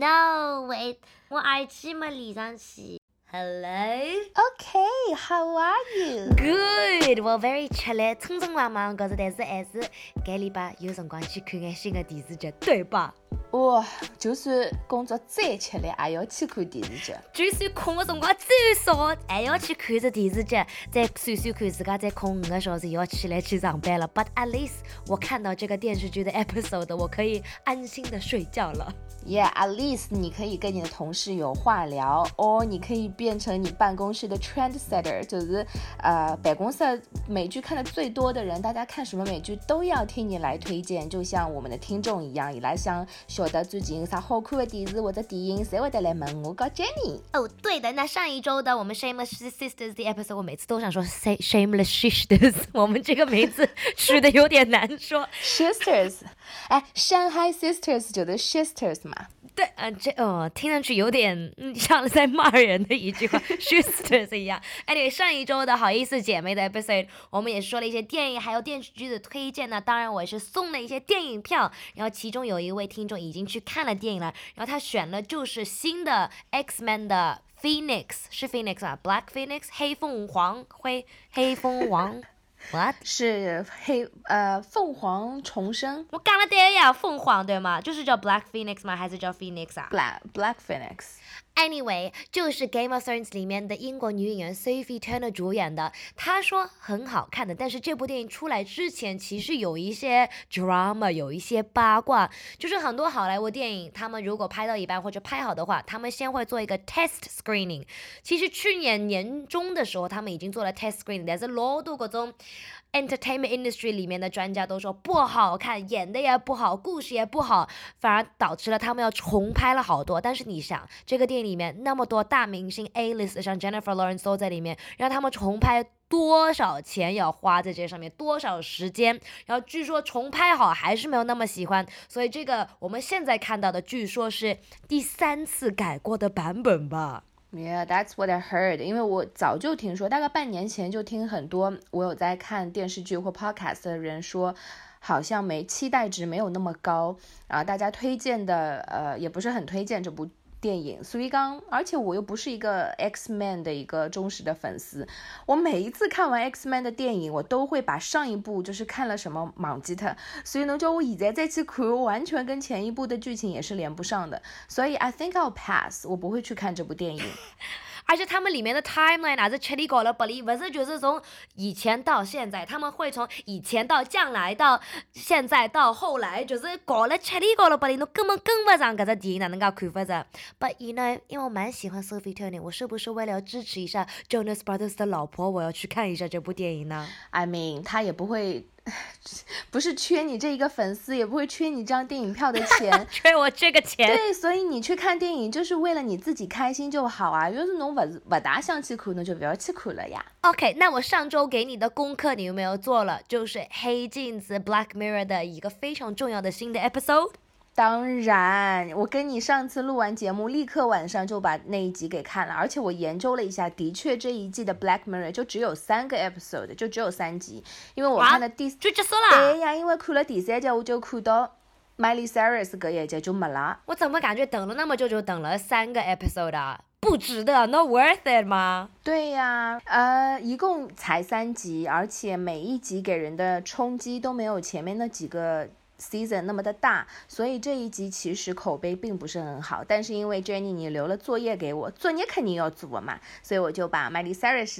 No wait， 我耳机没连上去。Hello. Okay, how are you? Good. Well, very chill. 匆匆忙忙，可是但是还是这礼拜有辰光去看眼新的电视剧，对吧？ 哇，就算工作再吃力，也要去看电视剧。 就算空的辰光最少，还要去看着电视剧，再算算看自家再空5个小时，又要起来去上班了。But at least 我看到这个电视剧的 episode， 我可以安心的睡觉了。 Yeah, at least 你可以跟你的同事有话聊，或你可以变成你办公室的 trendsetter， 就是办公室美剧看的最多的人，大家看什么美剧都要听你来推荐，就像我们的听众一样，伊拉想晓得最近有啥好看的电视或者电影，侪会得来问我跟 Jenny。 哦，对的，那上一周的我们 Shameless Sisters 的 episode， 我每次都想说 Shameless Sisters， 我们这个名字取的有点难说。 Sisters， 上海 Sisters 就是 Sisters 嘛。 对，听上去有点像在骂人的一句话，sisters 一样。Anyway， 上一周的好意思姐妹的 episode， 我们也说了一些电影还有电视剧的推荐呢。当然，我也是送了一些电影票，然后其中有一位听众已经去看了电影了，然后他选了就是新的 X-Men 的 Phoenix， 是 Phoenix 啊 ，Black Phoenix， 黑凤凰。What？ 是凤凰重生。 我讲了对呀，凤凰对吗？就是叫 Black Phoenix 吗？还是叫 Phoenix 啊 ？Black Phoenix。Anyway， 就是 Game of Thrones 里面的英国女演员 Sophie Turner 主演的，她说很好看的，但是这部电影出来之前，其实有一些 drama， 有一些八卦，就是很多好莱坞电影，他们如果拍到一半或者拍好的话，他们先会做一个 test screening。其实去年年中的时候，他们已经做了 test screening， 但是老多各种entertainment industry 里面的专家都说不好看，演的也不好，故事也不好，反而导致了他们要重拍了好多。但是你想，这个电影里面那么多大明星 A-list， 像 Jennifer Lawrence 都在里面，让他们重拍多少钱要花在这上面，多少时间，然后据说重拍好还是没有那么喜欢，所以这个我们现在看到的据说是第3次改过的版本吧。 Yeah, that's what I heard. 因为我早就听说，大概半年前就听很多我有在看电视剧或 podcast 的人说，好像期待值没有那么高，然后大家推荐的也不是很推荐这部电影，所以而且我又不是一个 X-Men 的一个忠实的粉丝，我每一次看完 X-Men 的电影，我都会把上一部就是看了什么忘记它，所以呢，就我现在再去看，完全跟前一部的剧情也是连不上的，所以 I think I'll pass， 我不会去看这部电影。 而且他们里面的 timeline 还是七里搞了八里，不是就是从以前到现在，他们会从以前到将来到现在到后来，就是搞了七里搞了八里，侬根本跟不上这个电影哪能够看法子 ？But you know， 因为我蛮喜欢 Sophie Turner， 我是不是为了要支持一下 Jonas Brothers 的老婆，我要去看一下这部电影呢 ？I mean， 他也不会。不是缺你这一个粉丝，也不会缺你这张电影票的钱缺我这个钱。 对，所以你去看电影就是为了你自己开心就好啊，要是侬不大想去看，那就不要去看了呀。 OK， 那我上周给你的功课你有没有做了？就是黑镜子 Black Mirror 的一个非常重要的新的 episode。 当然，我跟你上次录完节目，立刻晚上就把那一集给看了，而且我研究了一下，的确这一季的 Black Mirror 就只有3个 episode， 就只有3集，因为我看的就结束了。 对呀，因为看了第3集，我就看到 Miley Cyrus 这一集就没了。 我怎么感觉等了那么久，就等了3个 episode 啊？不值得 ，not worth it 吗？ 对呀，一共才3集，而且每一集给人的冲击都没有前面那几个season 那么的大，所以这一集其实口碑并不是很好，但是因为 Jenny 你留了作业给我，作业肯定要做嘛，所以我就把 Miley Cyrus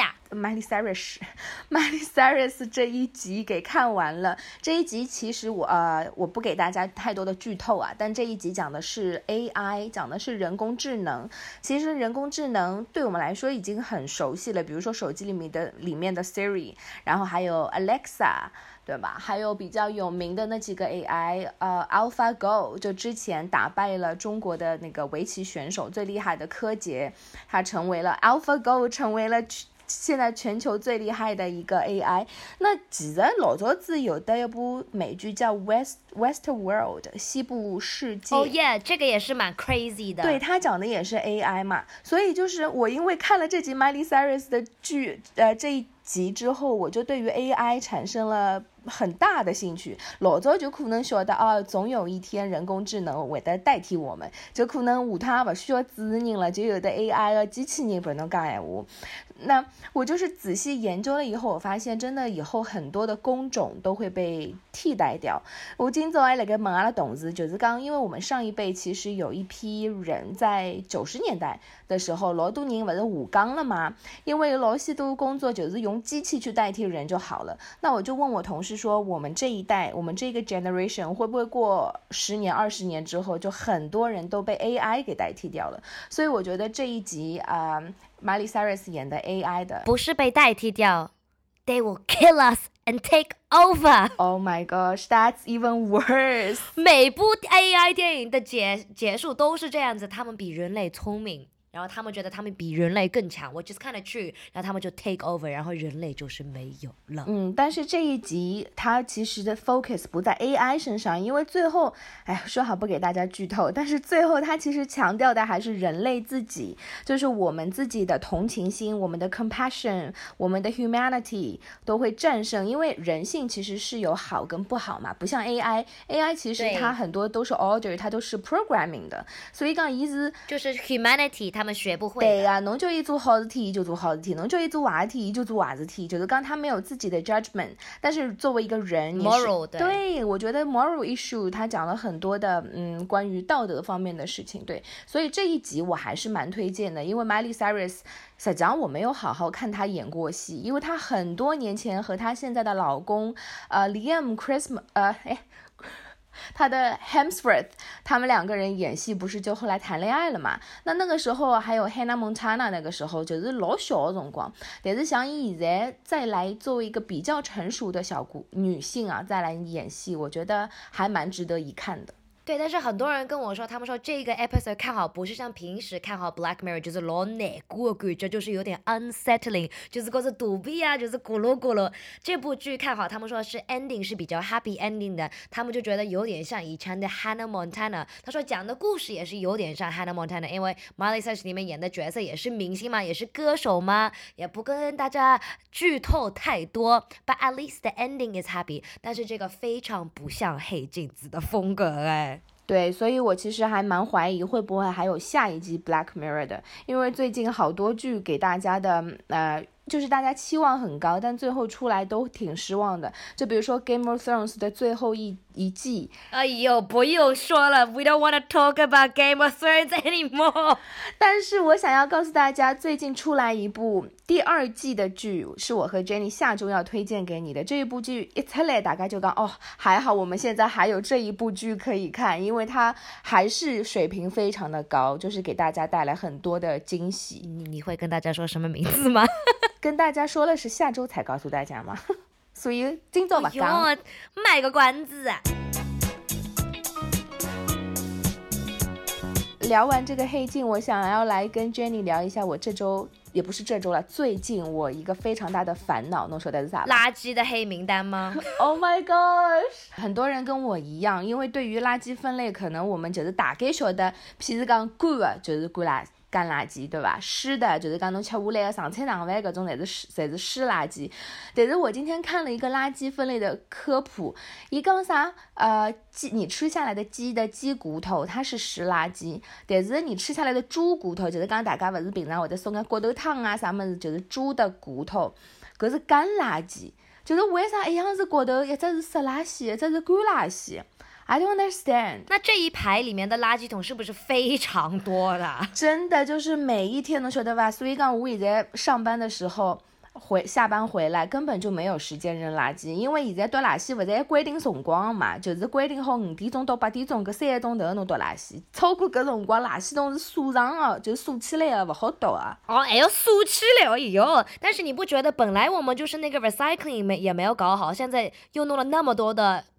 这一集给看完了。这一集其实我不给大家太多的剧透啊，但这一集讲的是 AI， 讲的是人工智能。其实人工智能对我们来说已经很熟悉了，比如说手机里面的 Siri， 然后还有 Alexa，对吧？还有比较有名的那几个 AI， AlphaGo 就之前打败了中国的那个围棋选手最厉害的柯洁，他成为了 AlphaGo， 成为了现在全球最厉害的一个 AI。那其实老早子有的一部美剧叫 Westworld 西部世界。 哦耶，这个也是蛮 crazy 的。 对，它讲的也是 AI 嘛，所以就是我因为看了这集 Miley Cyrus 的剧，这一集之后，我就对于 AI 产生了很大的兴趣。老早就可能晓得总有一天人工智能会得代替我们，就可能下趟不需要主持人了，就有的 AI 的机器人帮侬讲闲话。那我就是仔细研究了以后，我发现真的以后很多的工种都会被替代掉。我今早还辣盖问阿拉同事，就是讲，因为我们上一辈其实有一批人在90年代的时候，老多人不是下岗了嘛，因为老许多工作就是用机器去代替人就好了。那我就问我同事说，我们这一代，我们这个 generation 会不会过10年、20年之后，就很多人都被 AI 给代替掉了？所以我觉得这一集Miley Cyrus 演的 AI 的不是被代替掉 ，They will kill us and take over. Oh my gosh, that's even worse. 每部 AI 电影的结束都是这样子，他们比人类聪明。然后他们觉得他们比人类更强，which is kind of true，然后他们就 take over， 然后人类就是没有了。 但是这一集它其实的 focus 不在 AI 身上，因为最后，说好不给大家剧透，但是最后它其实强调的还是人类自己，就是我们自己的同情心，我们的 compassion， 我们的 humanity 都会战胜，因为人性其实是有好跟不好嘛，不像 AI 其实它很多都是 order， 它都是 programming 的，所以讲就是 humanity 他们学不会的。 对呀，侬叫伊做好事体就做好事体，侬叫伊做坏事体就做坏事体，就是讲他没有自己的 judgment， 但是作为一个人 moral 对，我觉得 moral issue 他讲了很多的关于道德方面的事情，对，所以这一集我还是蛮推荐的，因为 Miley Cyrus 实际上我没有好好看她演过戏，因为她很多年前和她现在的老公Liam Christmas 他的 Hemsworth 他们两个人演戏不是就后来谈恋爱了嘛，那个时候还有 Hannah Montana， 那个时候就是老小的辰光，但是像伊现在再来作为一个比较成熟的女性啊，再来演戏，我觉得还蛮值得一看的。 对，但是很多人跟我说，他们说这个 episode 看好不是像平时看好 Black Mirror， 就是老难过的感觉，就是有点 unsettling， 就是觉得肚皮啊，就是咕噜咕噜。这部剧看好，他们说是 ending 是比较 happy ending 的，他们就觉得有点像以前的 Hannah Montana。他说讲的故事也是有点像 Hannah Montana， 因为 Miley Cyrus 里面演的角色也是明星嘛，也是歌手嘛，也不跟大家剧透太多。But at least the ending is happy。但是这个非常不像黑镜子的风格对，所以我其实还蛮怀疑会不会还有下一季 Black Mirror 的，因为最近好多剧给大家的就是大家期望很高，但最后出来都挺失望的。就比如说 Game of Thrones 的最后一季， 哎呦，不用说了 ，We don't want to talk about Game of Thrones anymore。 但是我想要告诉大家，最近出来一部第2季的剧，是我和 Jenny 下周要推荐给你的。这一部剧一出来，大概就讲还好我们现在还有这一部剧可以看，因为它还是水平非常的高，就是给大家带来很多的惊喜。 你会跟大家说什么名字吗？ 跟大家说了是下周才告诉大家嘛，所以今早不讲， 卖个关子啊。 聊完这个黑镜，我想要来跟 Jenny 聊一下我这周，也不是这周了，最近我一个非常大的烦恼，侬说的是啥？ 垃圾的黑名单吗？ Oh my gosh， 很多人跟我一样，因为对于垃圾分类，可能我们就是大概晓得，譬如讲干的就是干垃圾，对吧？湿的就是讲侬吃下来的剩菜剩饭搿种侪是湿垃圾。但是我今天看了一个垃圾分类的科普，伊讲啥？你吃下来的鸡的鸡骨头它是湿垃圾，但是你吃下来的猪骨头，就是讲大家勿是平常会得送个骨头汤啊啥物事，就是猪的骨头，搿是干垃圾。就是为啥一样是骨头，一只是湿垃圾，一只是干垃圾？I don't understand。 那这一排里面的垃圾桶是不是非常多的？ 真的就是每一天，侬晓得吧？所以讲我现在上班的时候下班回来根本就没有时间扔垃圾，因为现在丢垃圾不是规定辰光嘛，就是规定好5点钟到8点钟搿3个钟头侬丢垃圾，超过搿辰光垃圾桶是锁上的，就锁起来的，不好丢啊。 还要锁起来，哎呦！但是你不觉得本来我们就是那个 recycling 也没有搞好，现在又弄了那么多的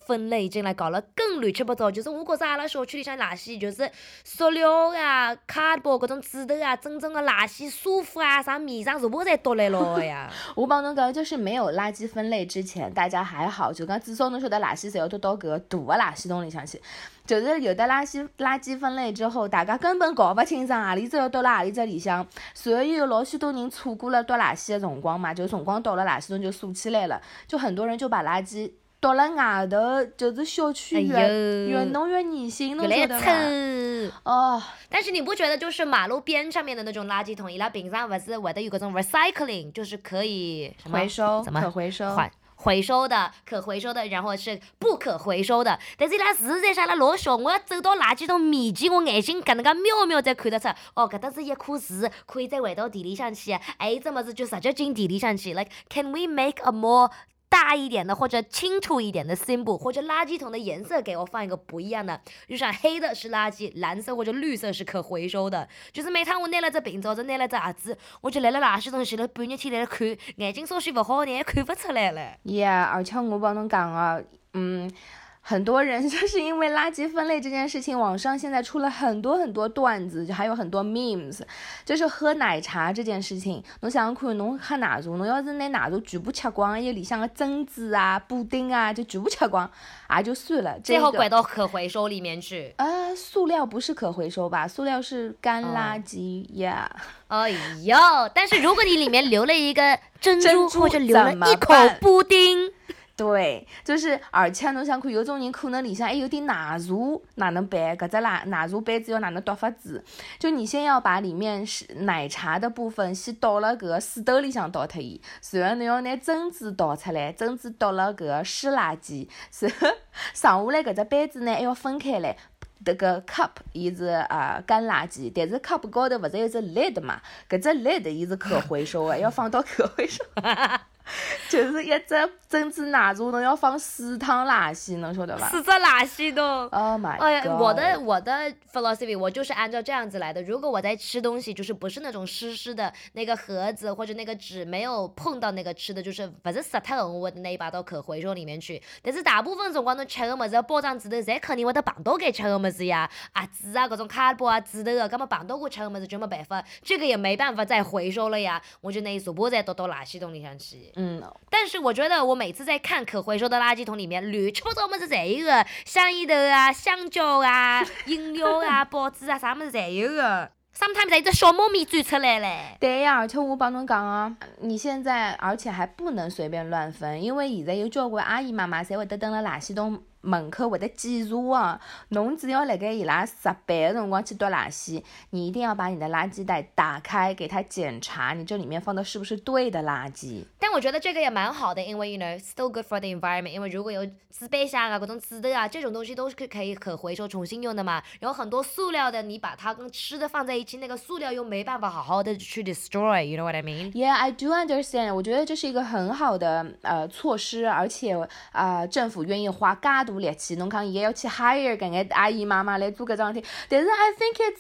分类进来搞了更乱七八糟，就是我觉着阿拉小区里向垃圾就是塑料啊、卡包搿种纸头啊，真正的垃圾沙发啊、啥面上全部侪倒来了呀。 我帮侬讲，就是没有垃圾分类之前，大家还好，就讲至少侬晓得垃圾侪要丢到搿个大的垃圾桶里向去。就是有的垃圾分类之后，大家根本搞不清爽何里只要倒辣何里只里向，所以有老许多人错过了倒垃圾的辰光嘛，就辰光到了垃圾桶就竖起来了，就很多人就把垃圾倒了外头，就是小区越弄越恶心，侬晓得吧？哦， 但是你不觉得就是马路边上面的那种垃圾桶，伊拉平常不是会得有搿种 recycling， 就是可以什么回收， 怎么可回收。 回收的、可回收的，然后是不可回收的。但是伊拉实在是阿拉老小，我要走到垃圾桶面前，我眼睛搿能介瞄瞄才看得出，哦，搿搭是一棵树，可以再回到地里向去，还有这么子就直接进地里向去。Like, can we make a more大一点的或者清楚一点的 symbol， 或者垃圾桶的颜色给我放一个不一样的，就像黑的是垃圾，蓝色或者绿色是可回收的。就是每趟我拿了只瓶子或者拿了只盒子，我就来了垃圾桶前头半日天来看，眼睛稍许不好，你也看不出来了。 Yeah， 而且我帮侬讲啊，很多人就是因为垃圾分类这件事情，网上现在出了很多很多段子，还有很多 memes， 就是喝奶茶这件事情。侬想想看，侬喝奶茶，侬要是拿奶茶全部吃光，还有里向的珍珠啊、布丁啊，就全部吃光，也就算了。 最后拐到可回收里面去。 塑料不是可回收吧？塑料是干垃圾呀。 哎呦！但是如果你里面留了一个珍珠或者留了一口布丁。 对，就是而且侬想看，有种人可能里向还有点奶茶，哪能办？搿只奶茶杯子要哪能倒法子？就你先要把里面奶茶的部分先倒了搿个水兜里向倒脱伊，然后侬要拿珍珠倒出来，珍珠倒了搿个湿垃圾，然后剩下来搿只杯子呢还要分开来。这个 cup 伊是干垃圾，但是 cup 高头勿是有只 lid 嘛？搿只 lid 伊是可回收的，要放到可回收。就是一只珍珠奶茶，侬要放4趟垃圾，侬晓得吧 ？4只垃圾桶。 Oh my god！ 哎呀，我的 philosophy 我就是按照这样子来的。如果我在吃东西，就是不是那种湿的那个盒子或者那个纸没有碰到那个吃的，就是不是湿脱的，我会拿伊摆到可回收里面去。但是大部分辰光侬吃的物事，包装纸头侪肯定会得碰到该吃的物事呀，盒子啊，搿种卡包啊、纸头的，搿么碰到过吃的物事就没办法，这个也没办法再回收了呀，我就拿伊全部再倒到垃圾桶里向去。但是我觉得我每次在看可回收的垃圾桶里面，乱七八糟物事侪有的，香烟头啊、香蕉啊、饮料啊、报纸啊，啥物事侪有的。sometimes 一只小猫咪钻出来嘞。 对呀，而且我帮侬讲啊，你现在而且还不能随便乱分，因为现在有交关阿姨妈妈侪会得蹲辣垃圾桶门口会得检查啊，侬只要辣盖伊拉值班的辰光去倒垃圾，你一定要把你的垃圾袋打开，给他检查你这里面放的是不是对的垃圾。 但我觉得这个也蛮好的，因为 still good for the environment， 因为如果有纸杯箱啊、各种纸的啊，这种东西都是可以可回收重新用的嘛。然后很多塑料的，你把它跟吃的放在一起，那个塑料又没办法好好的去 destroy，you know what I mean？ Yeah, I do understand。我觉得这是一个很好的措施，而且政府愿意花介大力气，侬讲也要去 hire 搿眼阿姨妈妈来做搿桩事体，但是 I think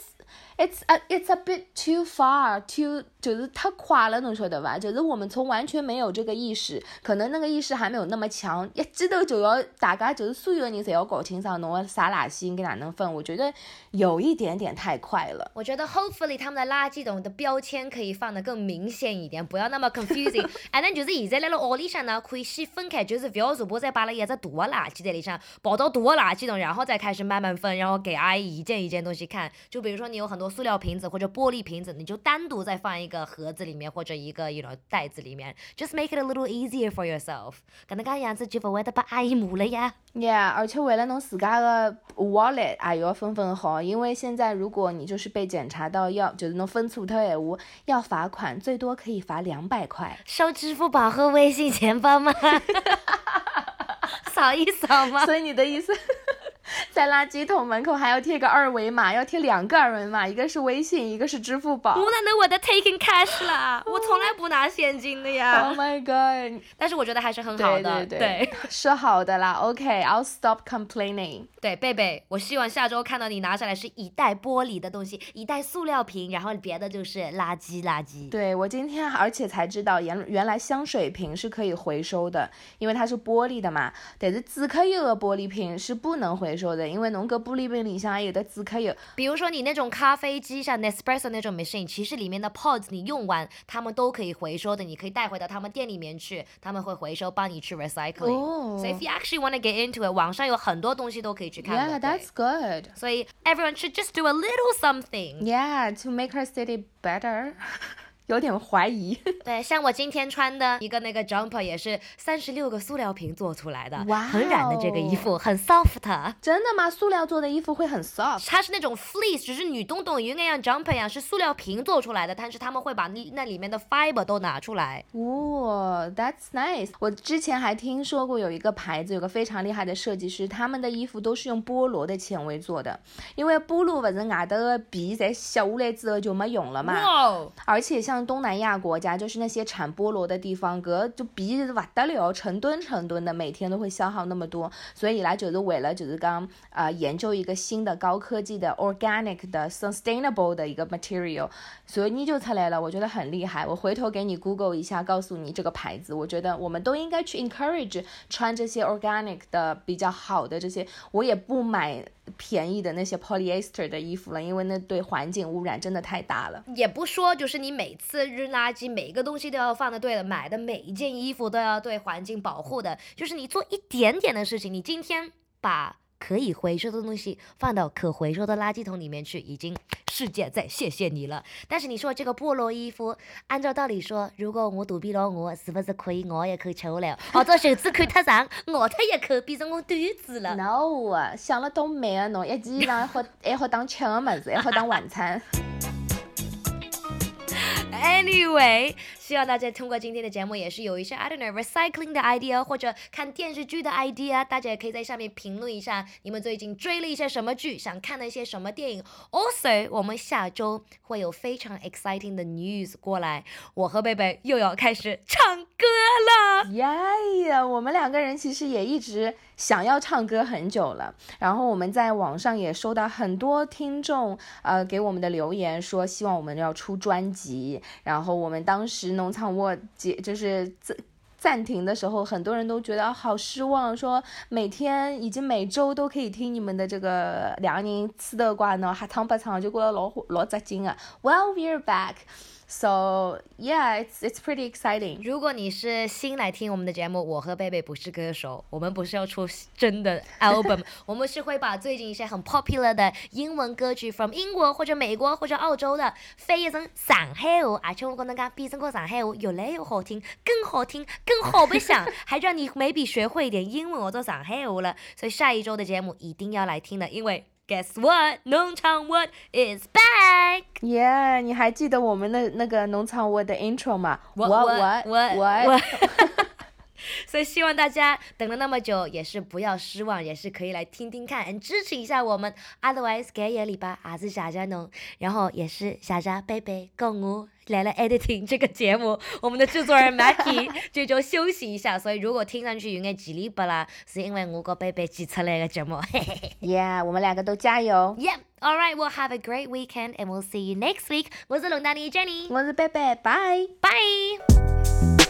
it's a bit too far， 就是太快了，侬晓得吧？就是我们从完全没有这个意识，可能那个意识还没有那么强，一记头就要大家就是所有人侪要搞清爽侬个啥垃圾应该哪能分，我觉得有一点点太快了。 我觉得 hopefully 他们的垃圾桶的标签可以放得更明显一点，不要那么 confusing。and then 就是现在来了屋里向呢，可以先分开，就是不要全部再摆了一只大的垃圾在里向，跑到大的垃圾桶，然后再开始慢慢分，然后给阿姨一件一件东西看。就比如说你有很多塑料瓶子或者玻璃瓶子，你就单独再放一个盒子里面或者一个袋子里面 ，just make it a little easier for yourself。搿能介样子就不会得把阿姨骂了呀。 Yeah， 而且为了侬自家的 wallet 也要分好，因为现在如果你就是被检查到就是侬分错脱的闲话，要罚款，最多可以罚200块。 收支付宝和微信钱包吗？扫一扫吗？ 所以你的意思在垃圾桶门口还要贴个二维码，要贴2个二维码，一个是微信，一个是支付宝。 我哪能我的 taking cash 啦？我从来不拿现金的呀。 Oh my god！ 但是我觉得还是很好的， 对，说好的啦。OK，I'll stop complaining。 对，贝贝，我希望下周看到你拿下来是一袋玻璃的东西，一袋塑料瓶，然后别的就是垃圾。 对，我今天而且才知道，原来香水瓶是可以回收的，因为它是玻璃的嘛。但是纸壳油的玻璃瓶是不能回收的，因为侬个玻璃瓶里向还有的纸壳油。 比如说你那种咖啡机像 Nespresso 那种 machine， 其实里面的 pods 你用完，他们都可以回收的，你可以带回到他们店里面去，他们会回收，帮你去 recycling。So if you actually want to get into it， 网上有很多东西都可以去看的。 Yeah, that's good. 所以 everyone should just do a little something. Yeah, to make our city better. 有点怀疑。 对，像我今天穿的一个那个 jumper 也是36个塑料瓶做出来的， 哇， 很软的这个衣服，很 soft。 真的吗？塑料做的衣服会很 soft？ 它是那种 fleece， 只是你懂应该像 jumper 一样是塑料瓶做出来的，但是他们会把那里面的 fiber 都拿出来。 哦 ，that's nice。我之前还听说过有一个牌子，有个非常厉害的设计师，他们的衣服都是用菠萝的纤维做的，因为菠萝不是外头的皮在削下来之后就没用了嘛。 哇！ 而且像东南亚国家，就是那些产菠萝的地方，搿就皮是不得了，成吨的，每天都会消耗那么多，所以伊拉就是为了就是讲研究一个新的高科技的 organic 的 sustainable 的一个 material， 所以你就出来了，我觉得很厉害。我回头给你 Google 一下，告诉你这个牌子。我觉得我们都应该去 encourage 穿这些 organic 的比较好的这些，我也不买便宜的那些 polyester 的衣服了，因为那对环境污染真的太大了。 也不说就是你每次扔垃圾，每一个东西都要放的对的，买的每一件衣服都要对环境保护的，就是你做一点点的事情，你今天把可以回收的东西放到可回收的垃圾桶里面去，已经世界在谢谢你了。但是你说这个菠萝衣服，按照道理说，如果我肚皮老饿，是不是可以我也可以吃了？或者袖子看太长，饿脱一口变成我短子了。 No， 想了倒美啊侬，一件衣裳还好当吃的么子，还好当晚餐。 Anyway， 希望大家通过今天的节目也是有一些 I don't know recycling 的 idea， 或者看电视剧的 idea， 大家也可以在下面评论一下你们最近追了一些什么剧，想看了一些什么电影。Also， 我们下周会有非常 exciting 的 news 过来，我和贝贝又要开始唱歌了。 呀，我们两个人其实也一直想要唱歌很久了，然后我们在网上也收到很多听众给我们的留言，说希望我们要出专辑。然后我们当时农场沃就是暂停的时候，很多人都觉得好失望，说每天已经每周都可以听你们的这个两个人吃的瓜呢，还唱不唱就觉得老扎劲啊。Well, we're back. So yeah, it's pretty exciting. 如果你是新来听我们的节目，我和贝贝不是歌手，我们不是要出真的 album， 我们是会把最近一些很 popular 的英文歌曲 from 英国或者美国或者澳洲的翻译成上海话，而且我跟大家比整个上海话越来越好听，更好听，更好不想，还让你maybe学会一点英文或者上海话了。所以下一周的节目一定要来听的，因为Guess what? 农场沃 is back. Yeah， 你还记得我们的那个农场沃的 intro 吗？ What? 所以希望大家等了那么久也是不要失望，也是可以来听听看，支持一下我们。Otherwise， 这一个礼拜还是谢谢侬，然后也是谢谢贝贝跟我来了 editing 这个节目。我们的制作人 Maggie 这周休息一下，所以如果听上去有点叽里巴拉，是因为我跟贝贝挤出来的节目。 Yeah， 我们两个都加油。 Yep. All right, we'll have a great weekend and we'll see you next week. 我是龙丹妮 Jenny， 我是贝贝，拜拜。